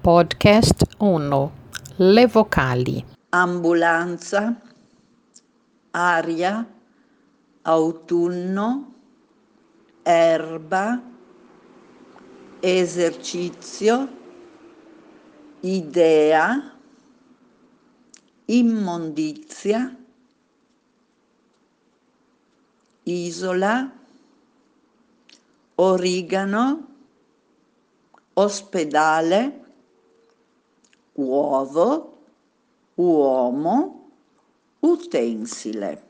Podcast 1. Le vocali. Ambulanza, aria, autunno, erba, esercizio, idea, immondizia, isola, origano, ospedale, uovo, uomo, utensile.